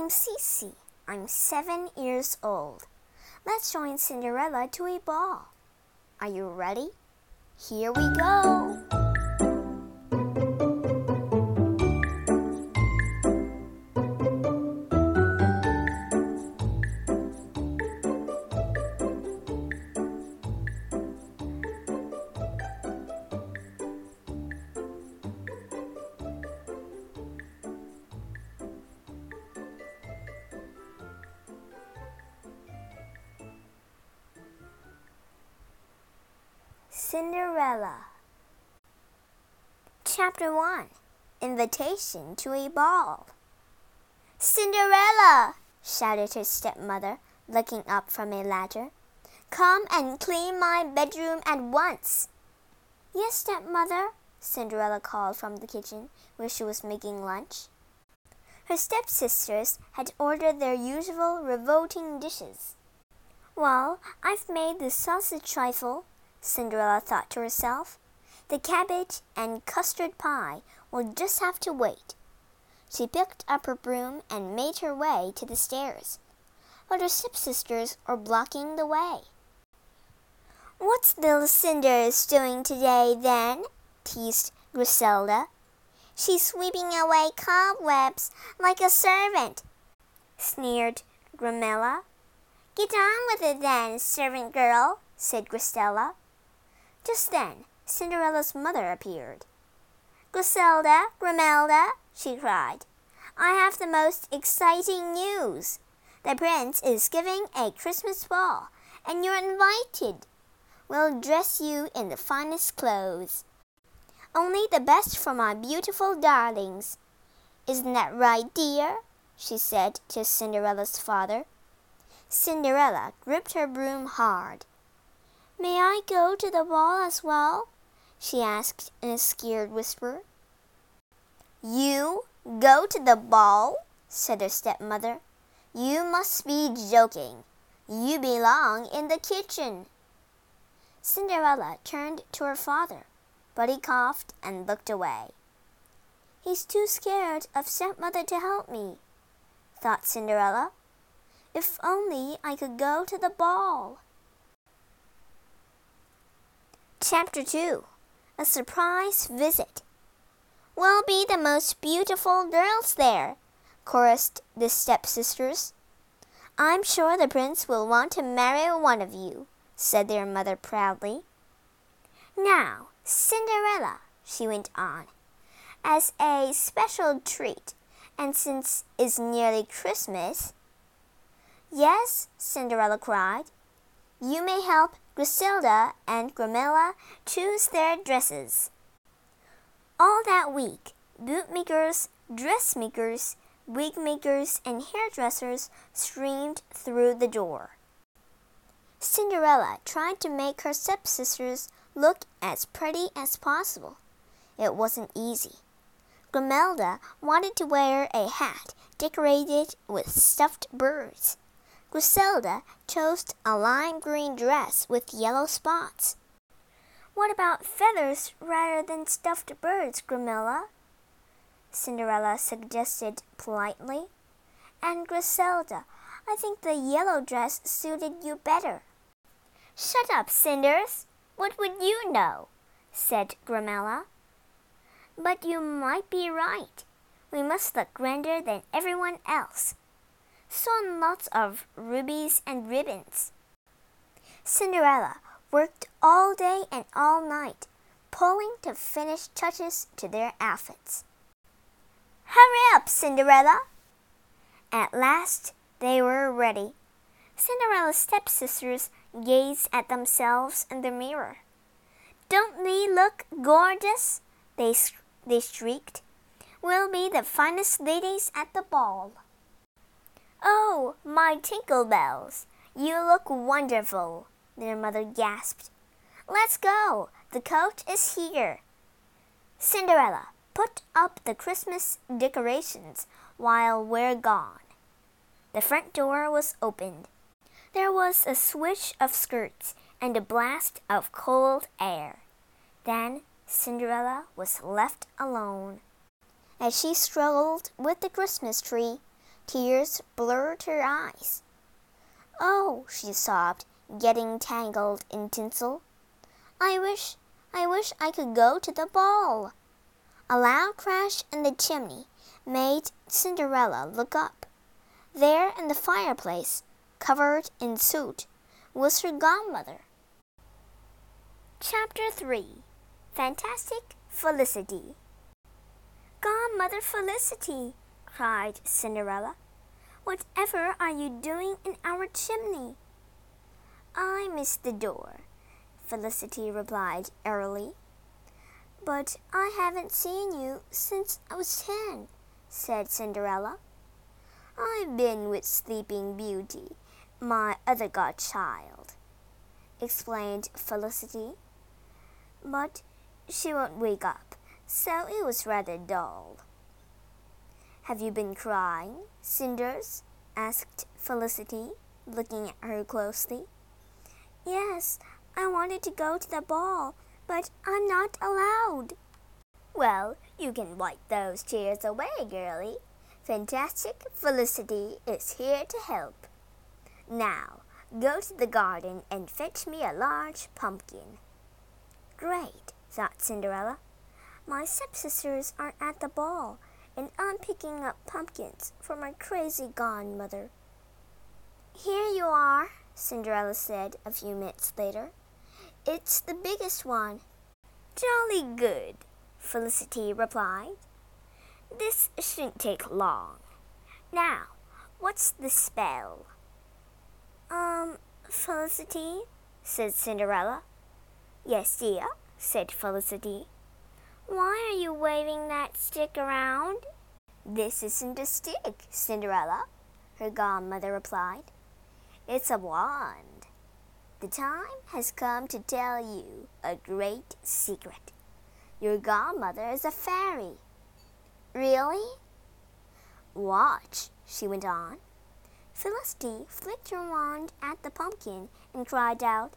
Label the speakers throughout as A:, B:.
A: I'm Cece. I'm 7 years old. Let's join Cinderella to a ball. Are you ready? Here we go. Cinderella. Chapter 1. Invitation to a ball. Cinderella, shouted her stepmother, looking up from a ladder. Come and clean my bedroom at once. Yes, stepmother, Cinderella called from the kitchen, where she was making lunch. Her stepsisters had ordered their usual revolting dishes. Well, I've made the sausage trifle, Cinderella thought to herself. The cabbage and custard pie will just have to wait. She picked up her broom and made her way to the stairs, but her stepsisters were blocking the way. What's little Cinders doing today, then? Teased Griselda. She's sweeping away cobwebs like a servant, sneered Gramella. Get on with it then, servant girl, said Griselda. Just then, Cinderella's mother appeared. Griselda, Gramelda, she cried, I have the most exciting news. The prince is giving a Christmas ball, and you're invited. We'll dress you in the finest clothes. Only the best for my beautiful darlings. Isn't that right, dear? She said to Cinderella's father. Cinderella gripped her broom hard. May I go to the ball as well? She asked in a scared whisper. You go to the ball? Said her stepmother. You must be joking. You belong in the kitchen. Cinderella turned to her father, but he coughed and looked away. He's too scared of stepmother to help me, thought Cinderella. If only I could go to the ball. Chapter 2. A surprise visit. We'll be the most beautiful girls there, chorused the stepsisters. I'm sure the prince will want to marry one of you, said their mother proudly. Now, Cinderella, she went on, as a special treat, and since it's nearly Christmas. Yes, Cinderella cried. You may help Griselda and Gramella choose their dresses. All that week, bootmakers, dressmakers, wigmakers, and hairdressers streamed through the door. Cinderella tried to make her stepsisters look as pretty as possible. It wasn't easy. Gramelda wanted to wear a hat decorated with stuffed birds. Griselda chose a lime green dress with yellow spots. What about feathers rather than stuffed birds, Gramella? Cinderella suggested politely. And Griselda, I think the yellow dress suited you better. Shut up, Cinders. What would you know? Said Gramella. But you might be right. We must look grander than everyone else. So on lots of rubies and ribbons. Cinderella worked all day and all night, pulling to finish touches to their outfits. Hurry up, Cinderella! At last, they were ready. Cinderella's stepsisters gazed at themselves in the mirror. Don't we look gorgeous? They shrieked. We'll be the finest ladies at the ball. Oh, my Tinkle Bells, you look wonderful, their mother gasped. Let's go, the coach is here. Cinderella, put up the Christmas decorations while we're gone. The front door was opened. There was a swish of skirts and a blast of cold air. Then Cinderella was left alone. As she strolled with the Christmas tree, Tears blurred her eyes. "Oh," she sobbed, getting tangled in tinsel. I wish I could go to the ball." A loud crash in the chimney made Cinderella look up. There in the fireplace, covered in soot, was her godmother. Chapter 3. Fantastic Felicity. "Godmother Felicity," cried Cinderella, "whatever are you doing in our chimney?" "I missed the door," Felicity replied airily. "But I haven't seen you since I was 10, said Cinderella. "I've been with Sleeping Beauty, my other godchild," explained Felicity. "But she won't wake up, so it was rather dull." "Have you been crying, Cinders?" asked Felicity, looking at her closely. "Yes, I wanted to go to the ball, but I'm not allowed." "Well, you can wipe those tears away, girlie. Fantastic Felicity is here to help. Now, go to the garden and fetch me a large pumpkin." "Great," thought Cinderella. "My stepsisters are at the ball, and I'm picking up pumpkins for my crazy godmother." "Here you are," Cinderella said a few minutes later. "It's the biggest one." "Jolly good," Felicity replied. "This shouldn't take long. Now, what's the spell?" Felicity," said Cinderella. "Yes, dear," said Felicity. "Why are you waving that stick around?" "This isn't a stick, Cinderella," her godmother replied. "It's a wand. The time has come to tell you a great secret. Your godmother is a fairy." "Really?" "Watch," she went on. Felicity flicked her wand at the pumpkin and cried out,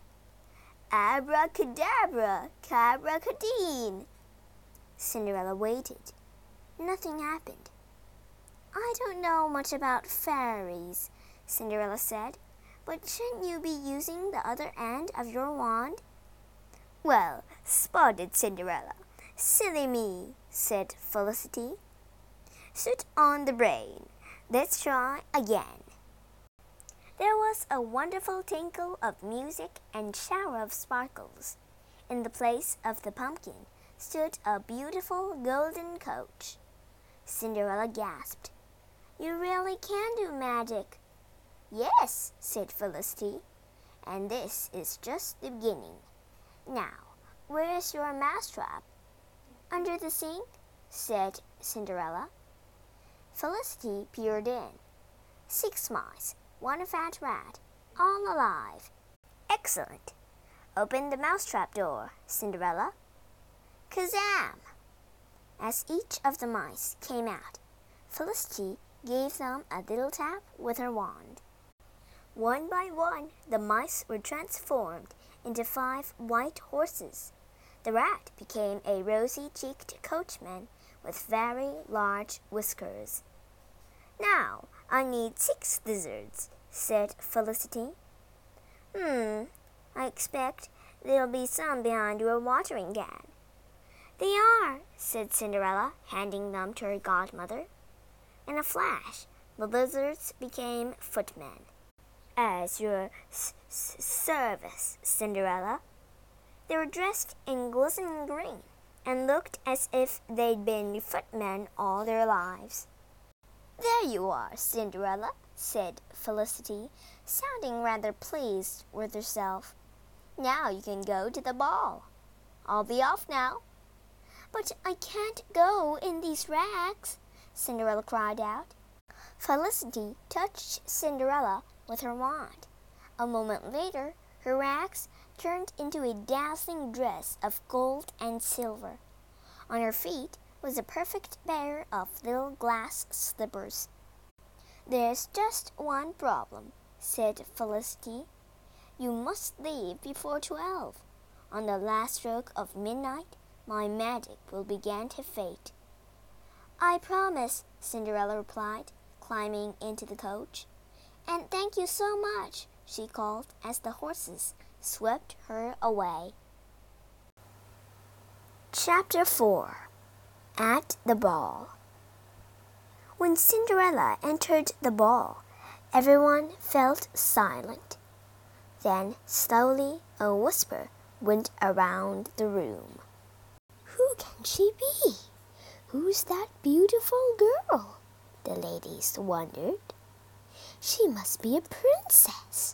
A: "Abracadabra, cabracadine." Cinderella waited. Nothing happened. "I don't know much about fairies," Cinderella said, "but shouldn't you be using the other end of your wand?" "Well spotted, Cinderella. Silly me," said Felicity. "Sit on the brain. Let's try again." There was a wonderful tinkle of music and shower of sparkles. In the place of the pumpkin stood a beautiful golden coach. Cinderella gasped. "You really can do magic." "Yes," said Felicity, "and this is just the beginning. Now, where's your mousetrap?" "Under the sink," said Cinderella. Felicity peered in. 6 mice, 1 fat rat, all alive. "Excellent. Open the mousetrap door, Cinderella." Kazam! As each of the mice came out, Felicity gave them a little tap with her wand. One by one, the mice were transformed into 5 white horses. The rat became a rosy-cheeked coachman with very large whiskers. "Now, I need 6 lizards," said Felicity. I expect there'll be some behind your watering can." "They are," said Cinderella, handing them to her godmother. In a flash, the lizards became footmen. "As your service, Cinderella." They were dressed in glistening green and looked as if they'd been footmen all their lives. "There you are, Cinderella," said Felicity, sounding rather pleased with herself. "Now you can go to the ball. I'll be off now." "But I can't go in these rags," Cinderella cried out. Felicity touched Cinderella with her wand. A moment later, her rags turned into a dazzling dress of gold and silver. On her feet was a perfect pair of little glass slippers. "There's just one problem," said Felicity. "You must leave before 12. On the last stroke of midnight, my magic will begin to fade." "I promise," Cinderella replied, climbing into the coach. "And thank you so much," she called as the horses swept her away. Chapter 4. At the Ball. When Cinderella entered the ball, everyone felt silent. Then slowly a whisper went around the room. "Who can she be? Who's that beautiful girl?" the ladies wondered. "She must be a princess."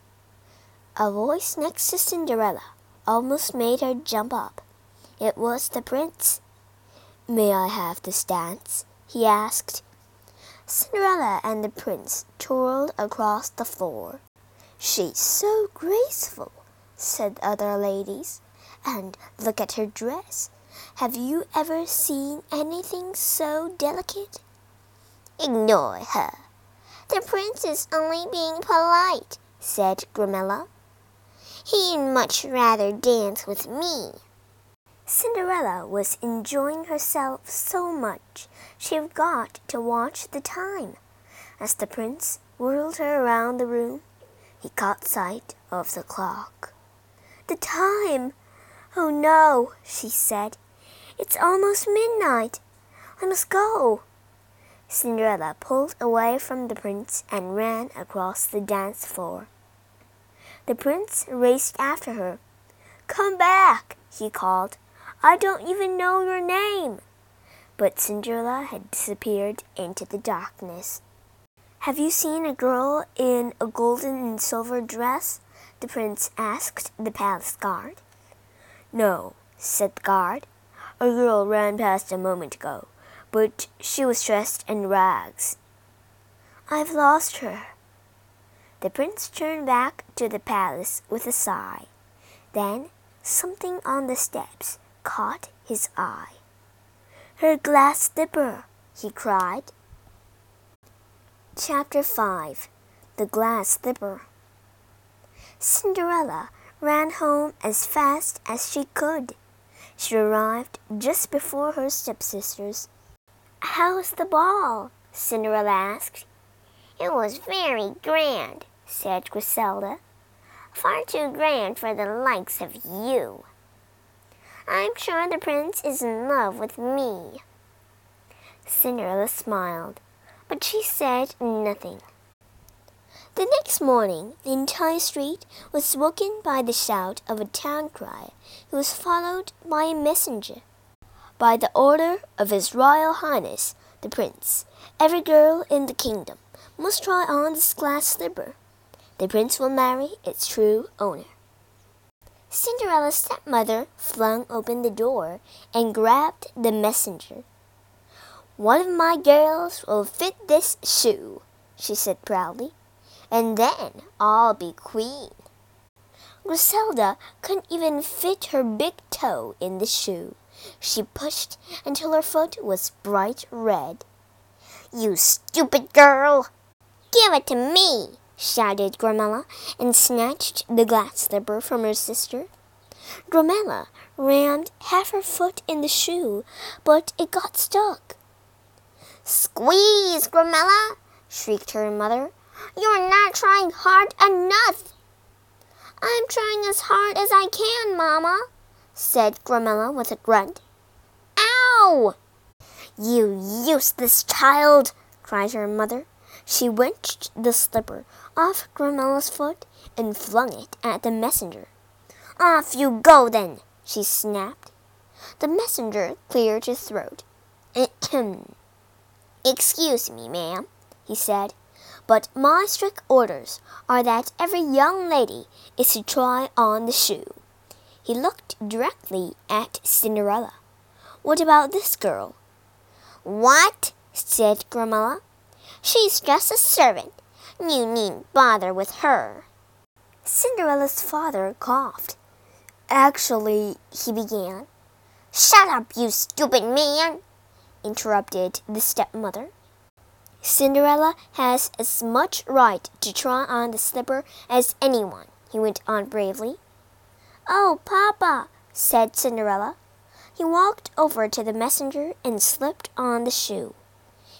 A: A voice next to Cinderella almost made her jump up. It was the prince. "May I have this dance?" he asked. Cinderella and the prince twirled across the floor. "She's so graceful," said other ladies. "And look at her dress. Have you ever seen anything so delicate?" "Ignore her. The prince is only being polite," said Gramella. "He'd much rather dance with me." Cinderella was enjoying herself so much she forgot to watch the time. As the prince whirled her around the room, he caught sight of the clock. "The time! Oh no," she said. "It's almost midnight. I must go." Cinderella pulled away from the prince and ran across the dance floor. The prince raced after her. "Come back," he called. "I don't even know your name." But Cinderella had disappeared into the darkness. "Have you seen a girl in a golden and silver dress?" the prince asked the palace guard. "No," said the guard. "A girl ran past a moment ago, but she was dressed in rags." "I've lost her." The prince turned back to the palace with a sigh. Then something on the steps caught his eye. "Her glass slipper!" he cried. Chapter 5. The Glass Slipper. Cinderella ran home as fast as she could. She arrived just before her stepsisters. "How was the ball?" Cinderella asked. "It was very grand," said Griselda. "Far too grand for the likes of you." "I'm sure the prince is in love with me." Cinderella smiled, but she said nothing. The next morning, the entire street was woken by the shout of a town crier who was followed by a messenger. "By the order of His Royal Highness, the Prince, every girl in the kingdom must try on this glass slipper. The prince will marry its true owner." Cinderella's stepmother flung open the door and grabbed the messenger. "One of my girls will fit this shoe," she said proudly, "and then I'll be queen." Griselda couldn't even fit her big toe in the shoe. She pushed until her foot was bright red. "You stupid girl! Give it to me!" shouted Gramella, and snatched the glass slipper from her sister. Gramella rammed half her foot in the shoe, but it got stuck. "Squeeze, Gramella!" shrieked her mother. "You're not trying hard enough." "I'm trying as hard as I can, Mama," said Gramella with a grunt. "Ow!" "You useless child!" cried her mother. She wrenched the slipper off Gramella's foot and flung it at the messenger. "Off you go, then!" she snapped. The messenger cleared his throat. "Excuse me, ma'am," he said, "but my strict orders are that every young lady is to try on the shoe." He looked directly at Cinderella. "What about this girl?" "What?" said Gramella. "She's just a servant. You needn't bother with her." Cinderella's father coughed. "Actually," he began. "Shut up, you stupid man!" interrupted the stepmother. "Cinderella has as much right to try on the slipper as anyone," he went on bravely. "Oh, Papa," said Cinderella. He walked over to the messenger and slipped on the shoe.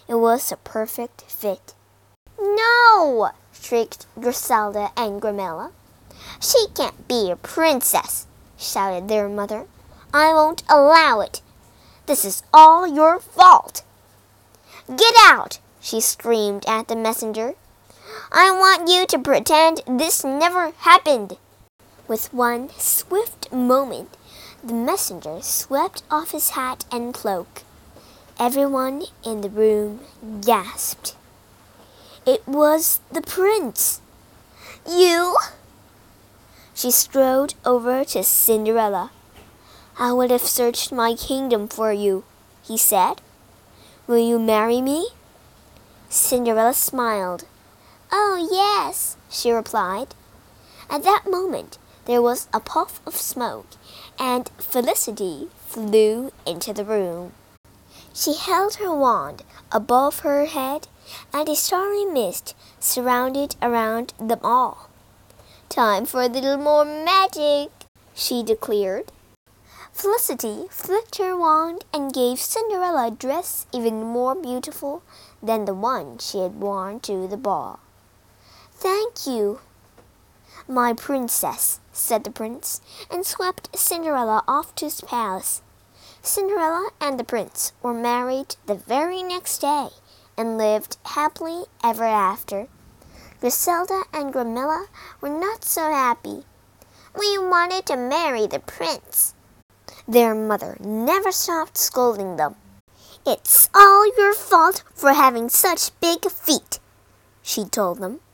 A: It was a perfect fit. "No!" shrieked Griselda and Gramella. "She can't be a princess," shouted their mother. "I won't allow it. This is all your fault." "Get out!" she screamed at the messenger. "I want you to pretend this never happened." With one swift movement, the messenger swept off his hat and cloak. Everyone in the room gasped. It was the prince. "You?" She strode over to Cinderella. "I would have searched my kingdom for you," he said. "Will you marry me?" Cinderella smiled. "Oh, yes," she replied. At that moment, there was a puff of smoke, and Felicity flew into the room. She held her wand above her head, and a starry mist surrounded around them all. "Time for a little more magic," she declared. Felicity flicked her wand and gave Cinderella a dress even more beautiful than the one she had worn to the ball. "Thank you, my princess," said the prince, and swept Cinderella off to his palace. Cinderella and the prince were married the very next day and lived happily ever after. Griselda and Gramella were not so happy. "We wanted to marry the prince." Their mother never stopped scolding them. "It's all your fault for having such big feet," she told them.